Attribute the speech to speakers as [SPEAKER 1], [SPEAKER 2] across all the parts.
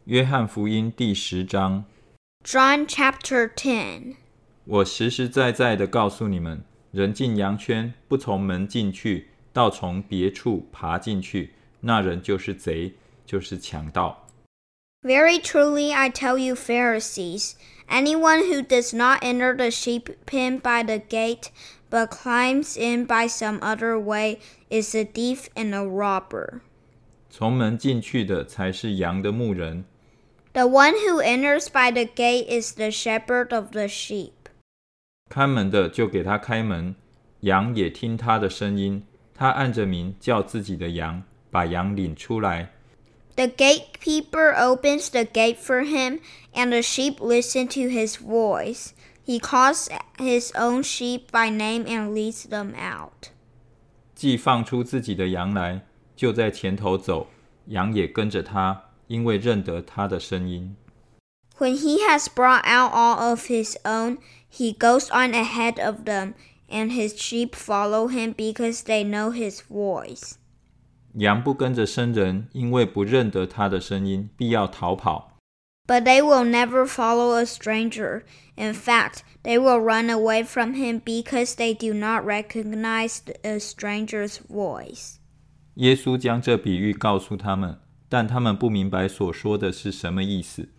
[SPEAKER 1] 约翰福音第10章。
[SPEAKER 2] John chapter 10.
[SPEAKER 1] 我实实在在的告诉你们，人进羊圈，不从门进去，倒从别处爬进去，那人就是贼，就是强盗。
[SPEAKER 2] Very truly I tell you, Pharisees, anyone who does not enter the sheep pen by the gate, but climbs in by some other way, is a thief and a robber.
[SPEAKER 1] 从门进去的才是羊的牧人。
[SPEAKER 2] The one who enters by the gate is the shepherd of the sheep.
[SPEAKER 1] 看门的就给他开门，羊也听他的声音，他按着名叫自己的羊，把羊领出来。
[SPEAKER 2] The gatekeeper opens the gate for him, and the sheep listen to his voice. He calls his own sheep by name and leads them out.
[SPEAKER 1] 既放出自己的羊来，就在前头走，羊也跟着他，因为认得他的声音。
[SPEAKER 2] When he has brought out all of his own, he goes on ahead of them, and his sheep follow him because they know his voice.
[SPEAKER 1] 羊不跟着生人，因为不认得他的声音，必要逃跑。
[SPEAKER 2] But they will never follow a stranger. In fact, they will run away from him because they do not recognize a stranger's voice.
[SPEAKER 1] 耶稣将这比喻告诉他们，但他们不明白所说的是什么意思。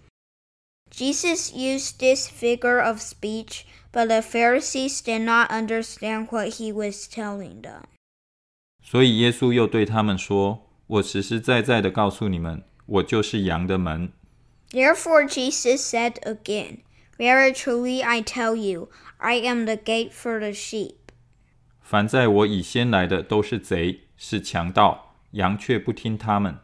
[SPEAKER 2] Jesus used this figure of speech, but the Pharisees did not understand what he was telling them.
[SPEAKER 1] 所以耶稣又对他们说，我实实在在的告诉你们，我就是羊的门。
[SPEAKER 2] Therefore Jesus said again, Very truly I tell you, I am the gate for the sheep.
[SPEAKER 1] 凡在我以先来的都是贼，是强盗，羊却不听他们。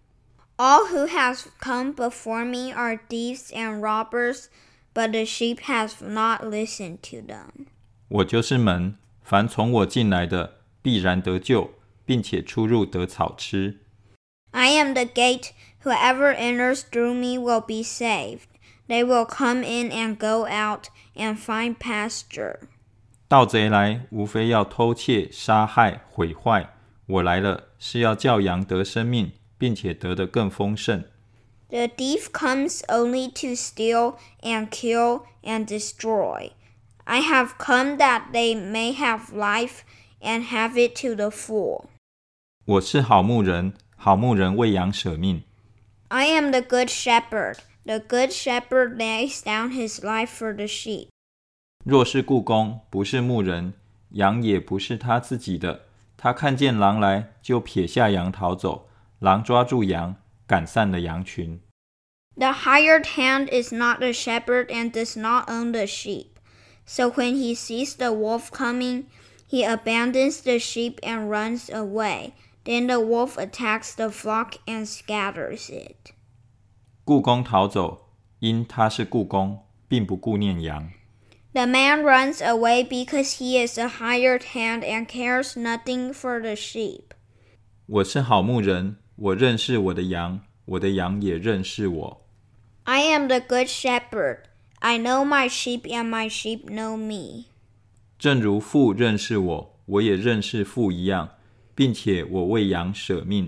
[SPEAKER 2] All who have come before me are thieves and robbers, but the sheep have not listened to them.
[SPEAKER 1] 我就是门，凡从我进来的必然得救，并且出入得草吃。
[SPEAKER 2] I am the gate. Whoever enters through me will be saved. They will come in and go out and find pasture.
[SPEAKER 1] 盗贼来，无非要偷窃、杀害、毁坏。我来了，是要叫羊得生命，并且得得更丰盛。
[SPEAKER 2] The thief comes only to steal and kill and destroy. I have come that they may have life and have it to the full.
[SPEAKER 1] 我是好牧人，好牧人为羊舍命。
[SPEAKER 2] I am the good shepherd. The good shepherd lays down his life for the sheep.
[SPEAKER 1] 若是雇工，不是牧人，羊也不是他自己的。他看见狼来，就撇下羊逃走。狼抓住羊，赶散了羊群。
[SPEAKER 2] The hired hand is not the shepherd and does not own the sheep. So when he sees the wolf coming, he abandons the sheep and runs away. Then the wolf attacks the flock and scatters it.
[SPEAKER 1] 雇工逃走，因他是雇工，并不顾念羊。
[SPEAKER 2] The man runs away because he is a hired hand and cares nothing for the sheep.
[SPEAKER 1] 我是好牧人，我认识我的羊，我的羊也认识我。
[SPEAKER 2] I am the good shepherd. I know my sheep and my sheep know me.
[SPEAKER 1] 正如父认识我，我也认识父一样，并且我为羊舍命。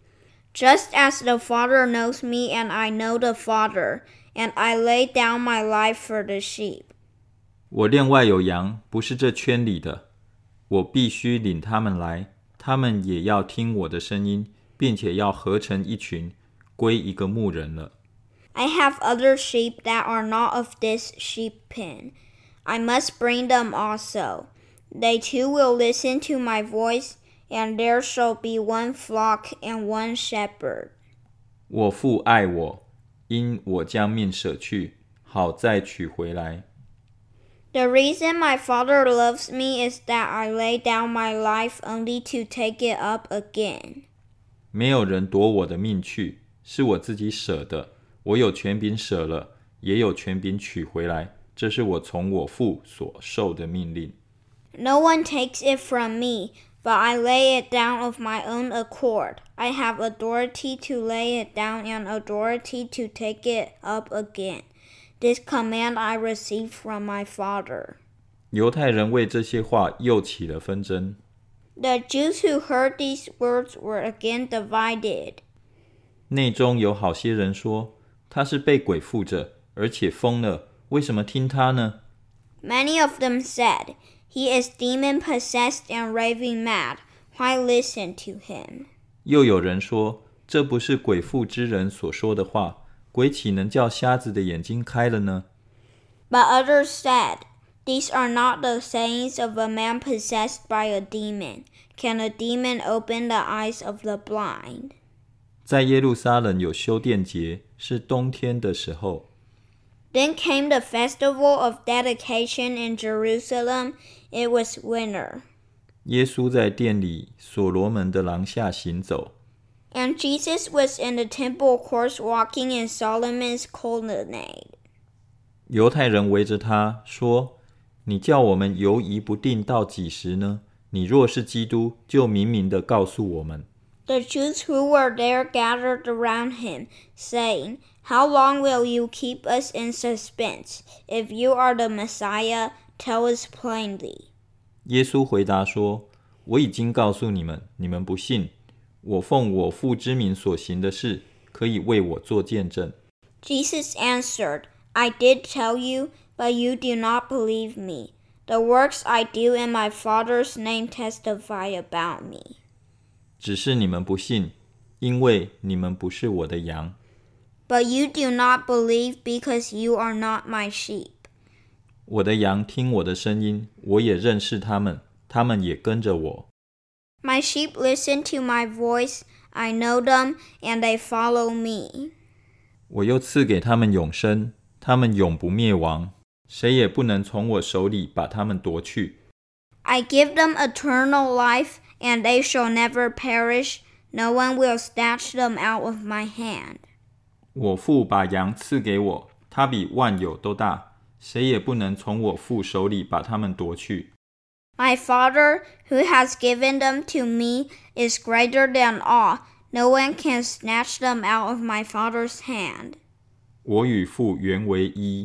[SPEAKER 2] Just as the Father knows me and I know the Father, and I lay down my life for the sheep.
[SPEAKER 1] 我另外有羊，不是这圈里的，我必须领他们来，他们也要听我的声音，并且要合成一群，归一个牧人了。
[SPEAKER 2] I have other sheep that are not of this sheep pen. I must bring them also. They too will listen to my voice, and there shall be one flock and one shepherd.
[SPEAKER 1] 我父爱我，因我将命舍去，好再取回来。
[SPEAKER 2] The reason my Father loves me is that I lay down my life only to take it up again.
[SPEAKER 1] 没有人夺我的命去，是我自己舍的。我有权柄舍了，也有权柄取回来，这是我从我父所受的命令。
[SPEAKER 2] No one takes it from me, but I lay it down of my own accord. I have authority to lay it down and authority to take it up again. This command I received from my Father.
[SPEAKER 1] 犹太人为这些话又起了纷争。
[SPEAKER 2] The Jews who heard these words were again divided.
[SPEAKER 1] 内中有好些人说， 他是被鬼附着，而且疯了，为什么听他呢？
[SPEAKER 2] Many of them said, He is demon-possessed and raving mad. Why listen to him?
[SPEAKER 1] 又有人说，这不是鬼附之人所说的话，鬼岂能叫瞎子的眼睛开了呢？
[SPEAKER 2] But others said, These are not the sayings of a man possessed by a demon. Can a demon open the eyes of the blind?
[SPEAKER 1] 在耶路撒冷有修殿节，是冬天的时候。
[SPEAKER 2] Then came the festival of dedication in Jerusalem. It was winter.
[SPEAKER 1] 耶稣在殿里所罗门的廊下行走。
[SPEAKER 2] And Jesus was in the temple courts walking in Solomon's colonnade.
[SPEAKER 1] 犹太人围着他说，你叫我们犹疑不定到几时呢？你若是基督，就明明地告诉我们。
[SPEAKER 2] The Jews who were there gathered around him, saying, How long will you keep us in suspense? If you are the Messiah, tell us plainly.
[SPEAKER 1] 耶稣回答说，我已经告诉你们，你们不信。我奉我父之名所行的事，可以为我做见证。
[SPEAKER 2] Jesus answered, I did tell you, but you do not believe me. The works I do in my Father's name testify about me.
[SPEAKER 1] 只是你们不信，因为你们不是我的羊。
[SPEAKER 2] But you do not believe because you are not my sheep.
[SPEAKER 1] 我的羊听我的声音，我也认识他们，他们也跟着我。
[SPEAKER 2] My sheep listen to my voice. I know them, and they follow me.
[SPEAKER 1] 我又赐给他们永生，他们永不灭亡，谁也不能从我手里把他们夺去。
[SPEAKER 2] I give them eternal life, and they shall never perish. No one will snatch them out of my hand.
[SPEAKER 1] 我父把羊赐给我，他比万有都大，谁也不能从我父手里把他们夺去。
[SPEAKER 2] My Father, who has given them to me, is greater than all. No one can snatch them out of my Father's hand.
[SPEAKER 1] 我与父原为一。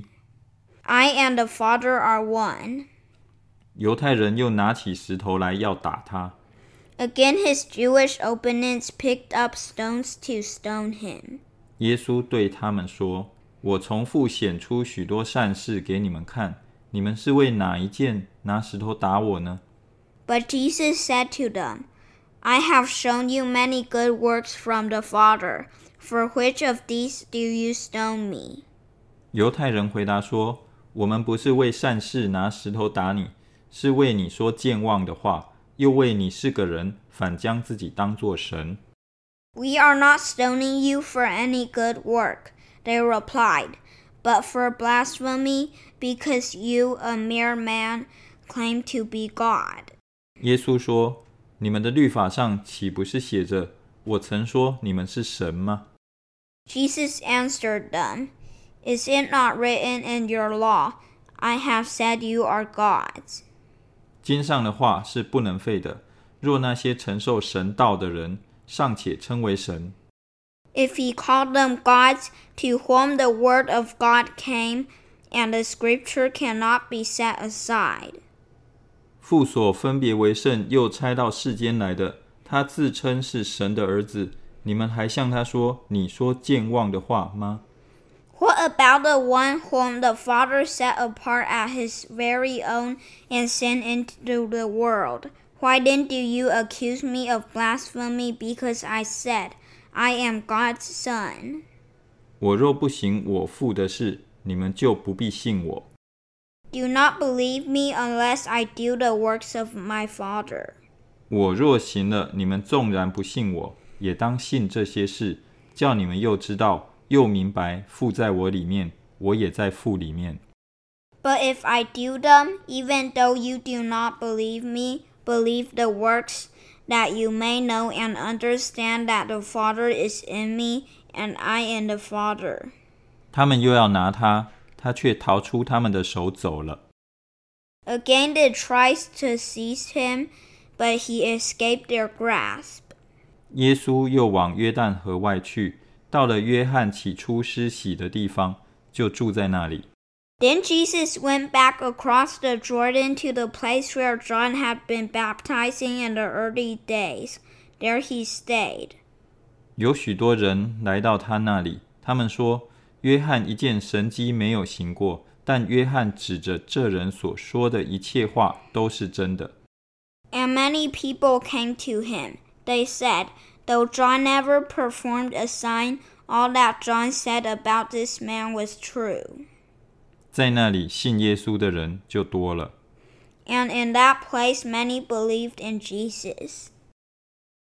[SPEAKER 2] I and the Father are one.
[SPEAKER 1] 犹太人又拿起石头来要打他。
[SPEAKER 2] Again his Jewish opponents picked up stones to stone him.
[SPEAKER 1] 耶稣对他们说，我从父显出许多善事给你们看，你们是为哪一件拿石头打我呢？
[SPEAKER 2] But Jesus said to them, I have shown you many good works from the Father. For which of these do you stone me?
[SPEAKER 1] 犹太人回答说，我们不是为善事拿石头打你，是为你说健忘的话，又为你是个人，反将自己当作神。
[SPEAKER 2] We are not stoning you for any good work, they replied, but for blasphemy, because you, a mere man, claim to be God.
[SPEAKER 1] 耶稣说，你们的律法上岂不是写着，我曾说你们是神吗？
[SPEAKER 2] Jesus answered them, Is it not written in your law, I have said you are gods?
[SPEAKER 1] 经上的话是不能废的，若那些承受神道的人尚且称为神，
[SPEAKER 2] If he called them gods to whom the word of God came, and the scripture cannot be set aside.
[SPEAKER 1] 父所分别为圣又差到世间来的，他自称是神的儿子，你们还向他说，你说健忘的话吗？
[SPEAKER 2] What about the one whom the Father set apart as his very own and sent into the world? Why then do you accuse me of blasphemy because I said, I am God's son?
[SPEAKER 1] 我若不行我父的事，你们就不必信我。
[SPEAKER 2] Do not believe me unless I do the works of my Father.
[SPEAKER 1] 我若行了，你们纵然不信我，也当信这些事，叫你们又知道又明白父在我里面，我也在父里面。
[SPEAKER 2] But if I do them, even though you do not believe me, believe the works, that you may know and understand that the Father is in me, and I in the Father.
[SPEAKER 1] 他们又要拿他，他却逃出他们的手走了。
[SPEAKER 2] Again they tried to seize him, but he escaped their grasp.
[SPEAKER 1] 耶稣又往约旦河外去，到了约翰起初施洗的地方，就住在那里。
[SPEAKER 2] Then Jesus went back across the Jordan to the place where John had been baptizing in the early days. There he stayed.
[SPEAKER 1] 有许多人来到他那里，他们说： 约翰一件神迹没有行过，但约翰指着这人所说的一切话都是真的。
[SPEAKER 2] And many people came to him. They said, though John never performed a sign, all that John said about this man was true.
[SPEAKER 1] 在那里信耶稣的人就多了。
[SPEAKER 2] And in that place many believed in Jesus.